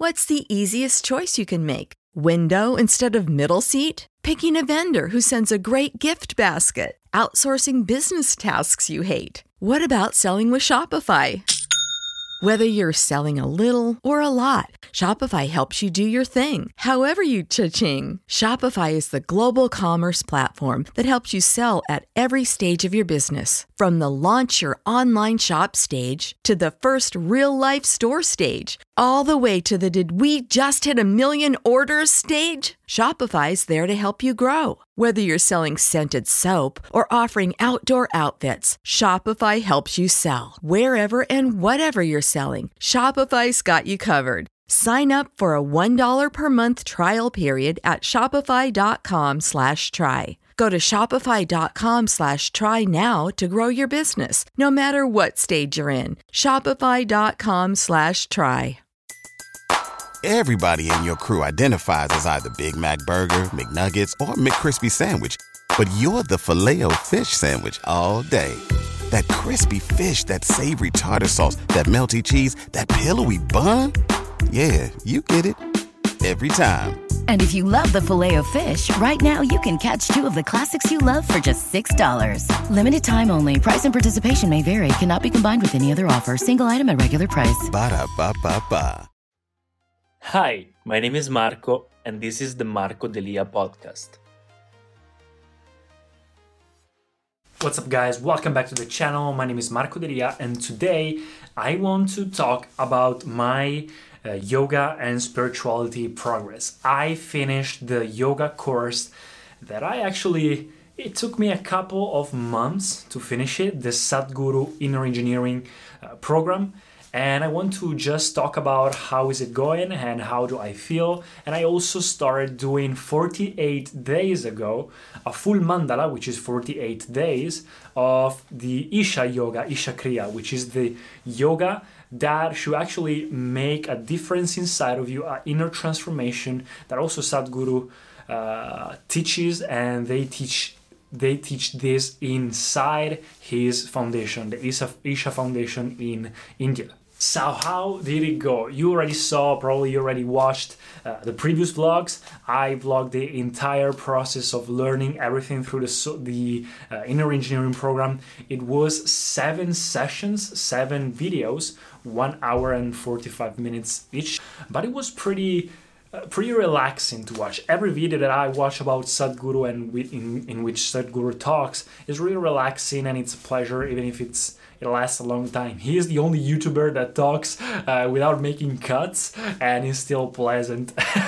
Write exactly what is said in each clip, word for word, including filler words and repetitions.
What's the easiest choice you can make? Window instead of middle seat? Picking a vendor who sends a great gift basket? Outsourcing business tasks you hate? What about selling with Shopify? Whether you're selling a little or a lot, Shopify helps you do your thing, however you cha-ching. Shopify is the global commerce platform that helps you sell at every stage of your business. From the launch your online shop stage to the first real-life store stage, all the way to the did we just hit a million orders stage. Shopify's there to help you grow. Whether you're selling scented soap or offering outdoor outfits, Shopify helps you sell. Wherever and whatever you're selling, Shopify's got you covered. Sign up for a one dollar per month trial period at shopify.com slash try. Go to shopify.com slash try now to grow your business, no matter what stage you're in. Shopify.com slash try. Everybody in your crew identifies as either Big Mac Burger, McNuggets, or McCrispy Sandwich. But you're the Filet-O-Fish Sandwich all day. That crispy fish, that savory tartar sauce, that melty cheese, that pillowy bun. Yeah, you get it. Every time. And if you love the Filet-O-Fish, right now you can catch two of the classics you love for just six dollars. Limited time only. Price and participation may vary. Cannot be combined with any other offer. Single item at regular price. Ba-da-ba-ba-ba. Hi, my name is Marco, and this is the Marco Delia podcast. What's up, guys? Welcome back to the channel. My name is Marco Delia, and today I want to talk about my uh, yoga and spirituality progress. I finished the yoga course that I actually, it took me a couple of months to finish it, the Sadhguru Inner Engineering uh, program. And I want to just talk about how is it going and how do I feel. And I also started doing forty-eight days ago, a full mandala, which is forty-eight days of the Isha Yoga, Isha Kriya, which is the yoga that should actually make a difference inside of you, an inner transformation that also Sadhguru uh, teaches, and they teach They teach this inside his foundation, the Isha, Isha Foundation in India. So how did it go? You already saw, probably you already watched uh, the previous vlogs. I vlogged the entire process of learning everything through the, the uh, Inner Engineering program. It was seven sessions, seven videos, one hour and forty-five minutes each. But it was pretty... Uh, pretty relaxing to watch. Every video that I watch about Sadhguru and we, in, in which Sadhguru talks is really relaxing, and it's a pleasure, even if it's it lasts a long time. He is the only YouTuber that talks uh, without making cuts, and is still pleasant.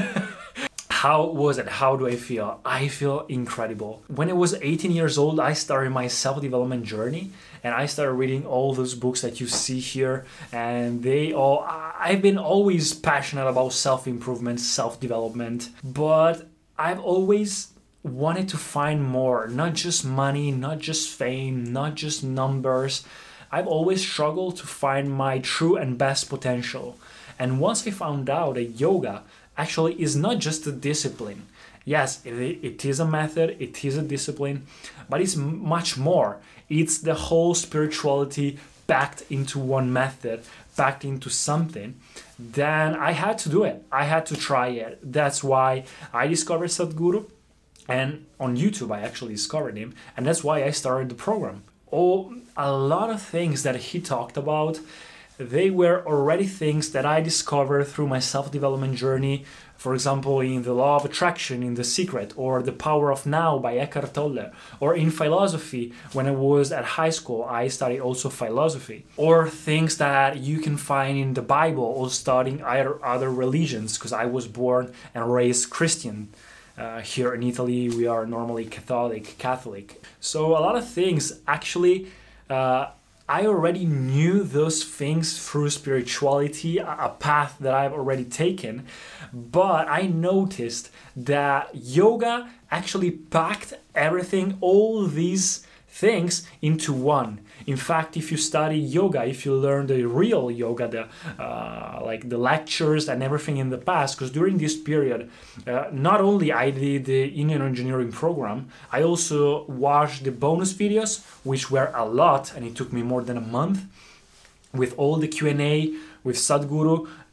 How was it? How do I feel? I feel incredible. When I was eighteen years old, I started my self-development journey, and I started reading all those books that you see here, and they all, I've been always passionate about self-improvement, self-development, but I've always wanted to find more, not just money, not just fame, not just numbers. I've always struggled to find my true and best potential. And once I found out that yoga actually is not just a discipline. Yes, it, it is a method, it is a discipline, but it's much more. It's the whole spirituality packed into one method, packed into something. Then I had to do it. I had to try it. That's why I discovered Sadhguru, and on YouTube I actually discovered him, and that's why I started the program. Oh, a lot of things that he talked about, they were already things that I discovered through my self-development journey. For example, in The Law of Attraction, in The Secret, or The Power of Now by Eckhart Tolle, or in philosophy. When I was at high school, I studied also philosophy, or things that you can find in the Bible, or studying other, other religions, because I was born and raised Christian. Uh, here in Italy, we are normally Catholic, Catholic. So a lot of things actually, uh, I already knew those things through spirituality, a path that I've already taken, but I noticed that yoga actually packed everything, all these things into one. In fact, if you study yoga, if you learn the real yoga, the uh, like the lectures and everything in the past, because during this period, uh, not only I did the Inner Engineering program, I also watched the bonus videos, which were a lot, and it took me more than a month, with all the Q and A with Sadhguru.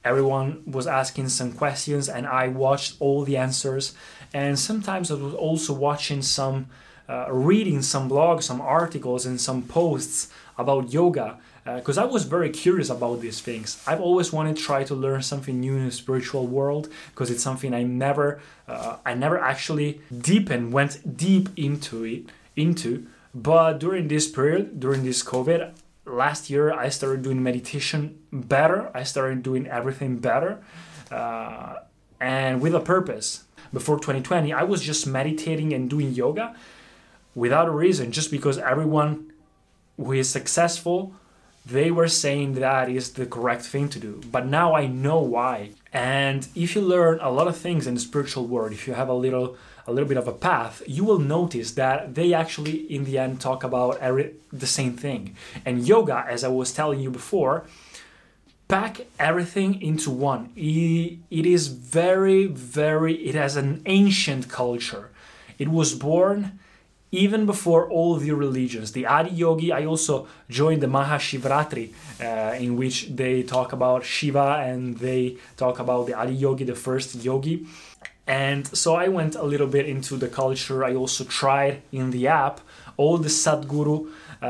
everyone was asking some questions and I watched all the answers. And sometimes I was also watching some, uh, reading some blogs, some articles and some posts about yoga, because uh, I was very curious about these things. I've always wanted to try to learn something new in the spiritual world, because it's something I never, uh, I never actually deepened, went deep into it, into. But during this period, during this COVID, last year, I started doing meditation better. I started doing everything better, uh, and with a purpose. Before twenty twenty, I was just meditating and doing yoga without a reason, just because everyone who is successful, they were saying that is the correct thing to do. But now I know why. And if you learn a lot of things in the spiritual world, if you have a little a little bit of a path, you will notice that they actually in the end talk about every, the same thing. And yoga, as I was telling you before, pack everything into one. It, it is very, very, it has an ancient culture. It was born even before all the religions. The Adi Yogi, I also joined the Mahashivratri, uh, in which they talk about Shiva and they talk about the Adi Yogi, the first yogi. And so I went a little bit into the culture. I also tried in the app all the Sadhguru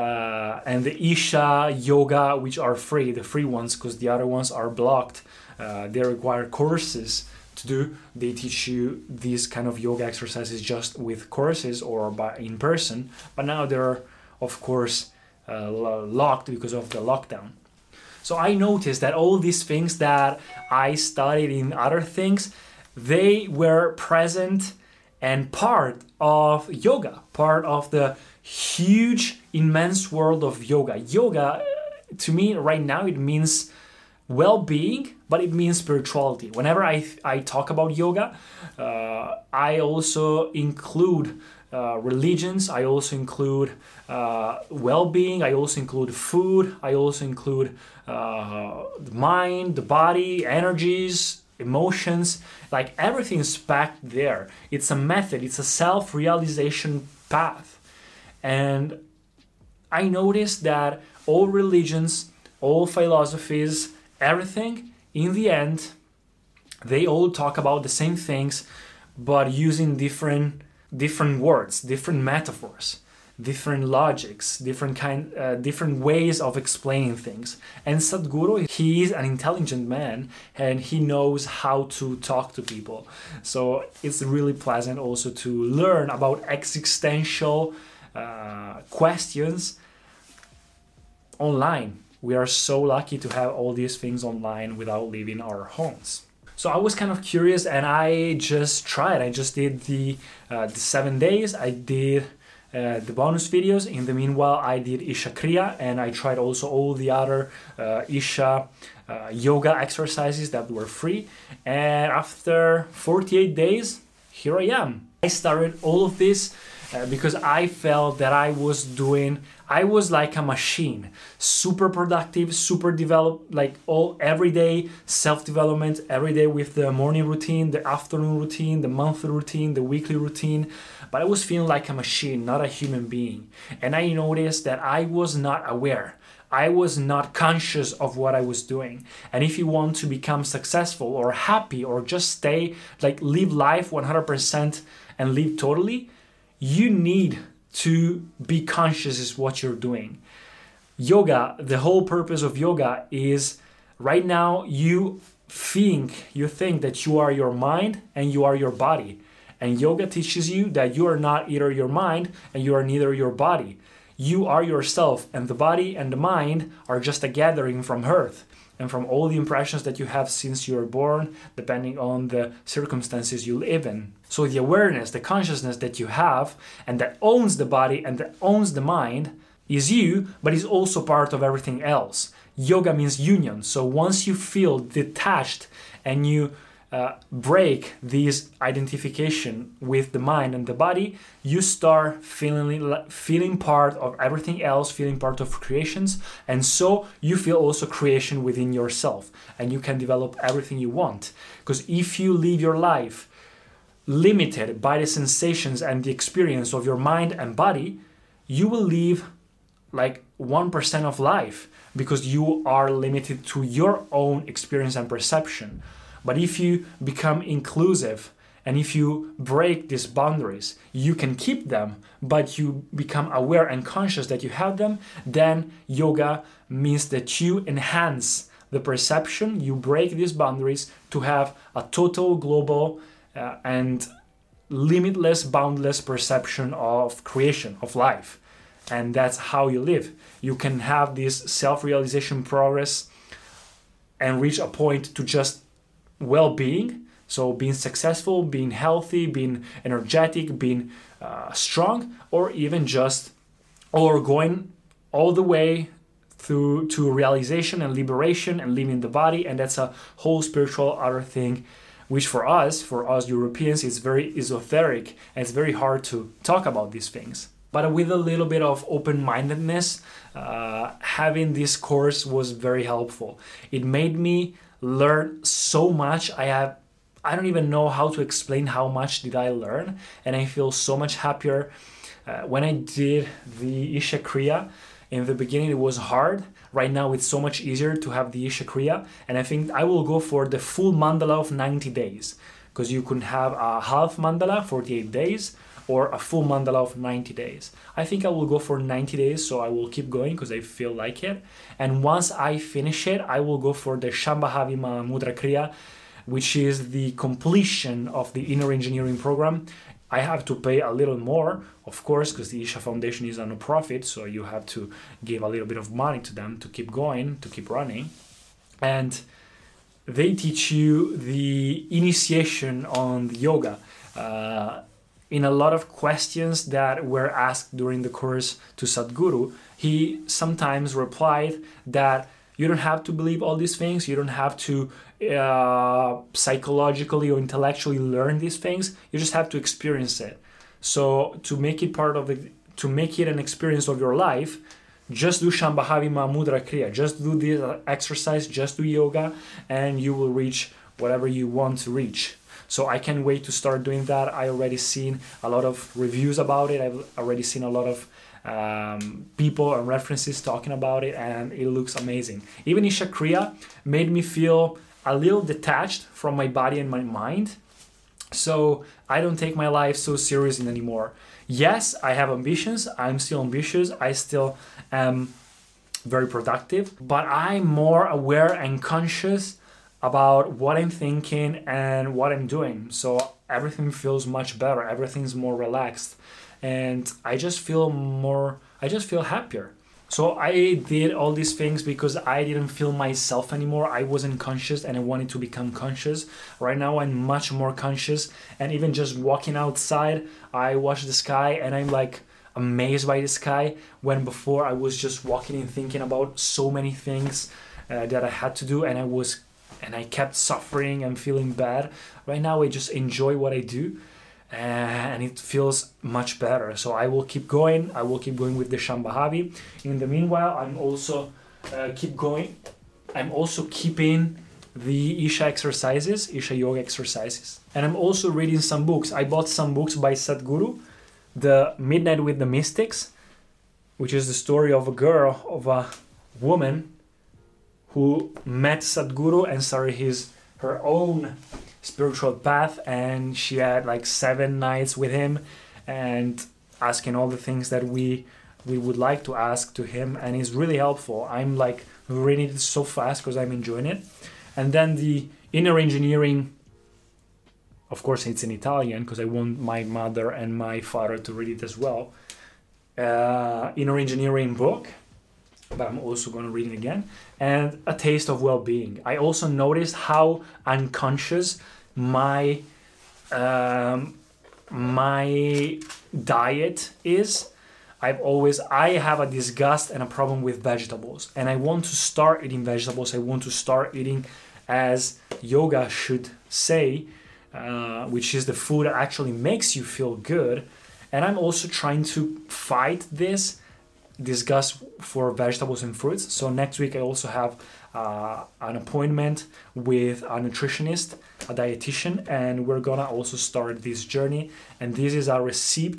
uh, and the Isha Yoga, which are free, the free ones, because the other ones are blocked. Uh, they require courses to do. They teach you these kind of yoga exercises just with courses or by in person. But now they're, of course, uh, locked because of the lockdown. So I noticed that all these things that I studied in other things, they were present and part of yoga, part of the huge, immense world of yoga. Yoga, to me, right now, it means well-being, but it means spirituality. Whenever I, I talk about yoga, uh, I also include uh, religions, I also include uh, well-being, I also include food, I also include uh, the mind, the body, energies, emotions, like everything is packed there. It's a method, it's a self-realization path. And I noticed that all religions, all philosophies, everything, in the end, they all talk about the same things, but using different different words, different metaphors, different logics, different kind, uh, different ways of explaining things. And Sadhguru, he is an intelligent man, and he knows how to talk to people. So it's really pleasant also to learn about existential uh, questions online. We are so lucky to have all these things online without leaving our homes. So I was kind of curious, and I just tried. I just did the uh, the seven days. I did uh, the bonus videos. In the meanwhile, I did Isha Kriya, and I tried also all the other uh, Isha uh, yoga exercises that were free. And after forty-eight days, here I am. I started all of this uh, because I felt that I was doing, I was like a machine, super productive, super developed, like all every day self-development, every day with the morning routine, the afternoon routine, the monthly routine, the weekly routine. But I was feeling like a machine, not a human being. And I noticed that I was not aware. I was not conscious of what I was doing. And if you want to become successful or happy or just stay, like live life one hundred percent and live totally, you need to be conscious is what you're doing. Yoga, the whole purpose of yoga is right now you think, you think that you are your mind and you are your body. And yoga teaches you that you are not either your mind and you are neither your body. You are yourself, and the body and the mind are just a gathering from earth and from all the impressions that you have since you were born, depending on the circumstances you live in. So the awareness, the consciousness that you have and that owns the body and that owns the mind is you, but is also part of everything else. Yoga means union. So once you feel detached and you uh, break this identification with the mind and the body, you start feeling feeling part of everything else, feeling part of creations, and so you feel also creation within yourself, and you can develop everything you want. Because if you live your life limited by the sensations and the experience of your mind and body, you will live like one percent of life, because you are limited to your own experience and perception. But if you become inclusive and if you break these boundaries, you can keep them, but you become aware and conscious that you have them, then yoga means that you enhance the perception, you break these boundaries to have a total global uh, and limitless, boundless perception of creation, of life. And that's how you live. You can have this self-realization progress and reach a point to just well-being. So being successful, being healthy, being energetic, being uh, strong, or even just, or going all the way through to realization and liberation and leaving the body. And that's a whole spiritual other thing, which for us, for us Europeans, is very esoteric and it's very hard to talk about these things. But with a little bit of open-mindedness, uh, having this course was very helpful. It made me learn so much. I have, I don't even know how to explain how much did I learn, and I feel so much happier. Uh, when I did the Isha Kriya, in the beginning it was hard. Right now it's so much easier to have the Isha Kriya, and I think I will go for the full mandala of ninety days, because you can have a half mandala, forty-eight days, or a full mandala of ninety days. I think I will go for ninety days, so I will keep going because I feel like it. And once I finish it, I will go for the Shambhavi Mahamudra Kriya, which is the completion of the inner engineering program. I have to pay a little more, of course, because the Isha Foundation is a no-profit, so you have to give a little bit of money to them to keep going, to keep running. And they teach you the initiation on the yoga. Uh, in a lot of questions that were asked during the course to Sadhguru, he sometimes replied that you don't have to believe all these things, you don't have to uh, psychologically or intellectually learn these things, you just have to experience it. So to make it part of the, to make it an experience of your life, just do Shambhavi Mahamudra Kriya, just do this exercise, just do yoga, and you will reach whatever you want to reach. So I can't wait to start doing that. I already seen a lot of reviews about it. I've already seen a lot of um, people and references talking about it, and it looks amazing. Even Isha Kriya made me feel a little detached from my body and my mind. So I don't take my life so seriously anymore. Yes, I have ambitions. I'm still ambitious. I still am very productive, but I'm more aware and conscious about what I'm thinking and what I'm doing. So everything feels much better. Everything's more relaxed. And I just feel more, I just feel happier. So I did all these things because I didn't feel myself anymore. I wasn't conscious and I wanted to become conscious. Right now I'm much more conscious, and even just walking outside, I watch the sky and I'm like amazed by the sky, when before I was just walking and thinking about so many things uh, that I had to do, and I was and I kept suffering and feeling bad. Right now I just enjoy what I do, and it feels much better. So I will keep going. I will keep going with the Shambhavi. In the meanwhile, I'm also uh, keep going. I'm also keeping the Isha exercises, Isha yoga exercises. And I'm also reading some books. I bought some books by Sadhguru. The Midnight with the Mystics, which is the story of a girl, of a woman who met Sadhguru and started his her own spiritual path, and she had like seven nights with him and asking all the things that we we would like to ask to him, and it's really helpful. I'm like reading it so fast because I'm enjoying it. And then the inner engineering, of course it's in Italian because I want my mother and my father to read it as well. Uh, inner engineering book, but I'm also going to read it again. And A Taste of Well-Being. I also noticed how unconscious my um, my diet is. I've always, I have a disgust and a problem with vegetables, and I want to start eating vegetables. I want to start eating as yoga should say, uh, which is the food that actually makes you feel good. And I'm also trying to fight this disgust for vegetables and fruits. So next week I also have uh, an appointment with a nutritionist, a dietitian, and we're gonna also start this journey. And this is a receipt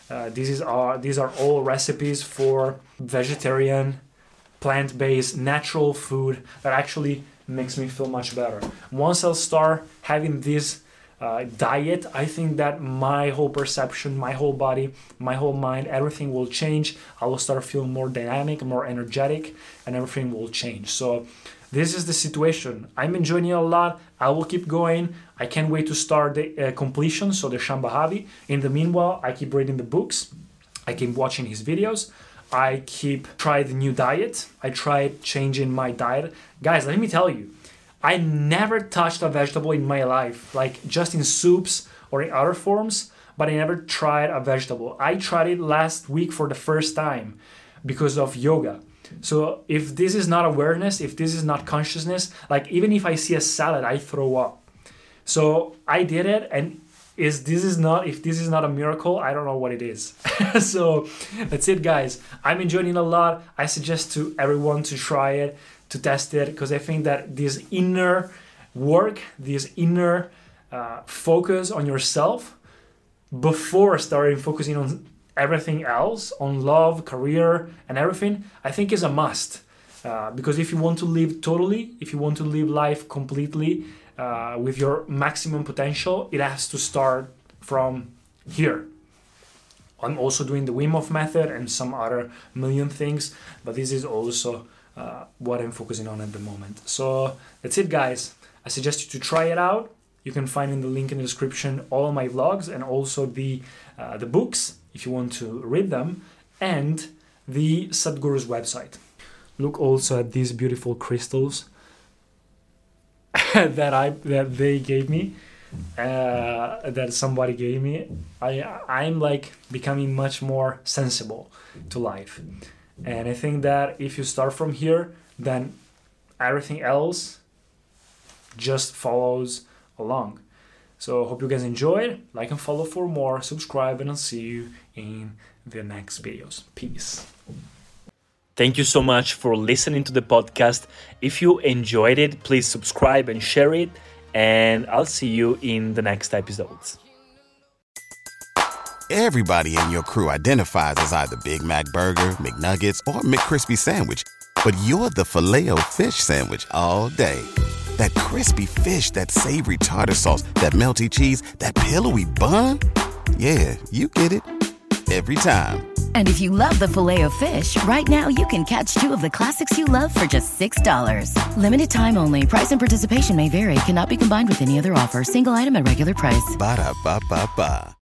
Uh, these is are these are all recipes for vegetarian, plant-based, natural food that actually makes me feel much better. Once I'll start having this uh, diet, I think that my whole perception, my whole body, my whole mind, everything will change. I will start feeling more dynamic, more energetic, and everything will change. So this is the situation. I'm enjoying it a lot. I will keep going. I can't wait to start the uh, completion, so the Shambhavi. In the meanwhile, I keep reading the books. I keep watching his videos. I keep trying the new diet. I tried changing my diet. Guys, let me tell you, I never touched a vegetable in my life, like just in soups or in other forms, but I never tried a vegetable. I tried it last week for the first time because of yoga. So if this is not awareness, if this is not consciousness, like even if I see a salad, I throw up. So I did it, and is this is not if this is not a miracle, I don't know what it is. So that's it, guys. I'm enjoying it a lot. I suggest to everyone to try it, to test it, because I think that this inner work, this inner uh, focus on yourself before starting focusing on everything else, on love, career, and everything, I think is a must. Uh, because if you want to live totally, if you want to live life completely uh, with your maximum potential, it has to start from here. I'm also doing the Wim Hof method and some other million things, but this is also uh, what I'm focusing on at the moment. So that's it, guys. I suggest you to try it out. You can find in the link in the description all of my vlogs and also the uh, the books if you want to read them, and the Sadhguru's website. Look also at these beautiful crystals that I that they gave me, uh, that somebody gave me. I I'm like becoming much more sensible to life, and I think that if you start from here, then everything else just follows along. So hope you guys enjoyed. Like and follow for more. Subscribe, and I'll see you in the next videos. Peace. Thank you so much for listening to the podcast. If you enjoyed it, please subscribe and share it. And I'll see you in the next episodes. Everybody in your crew identifies as either Big Mac Burger, McNuggets, or McCrispy Sandwich. But you're the Filet-O-Fish Sandwich all day. That crispy fish, that savory tartar sauce, that melty cheese, that pillowy bun. Yeah, you get it. Every time. And if you love the Filet-O-Fish, right now you can catch two of the classics you love for just six dollars. Limited time only. Price and participation may vary. Cannot be combined with any other offer. Single item at regular price. Ba-da-ba-ba-ba.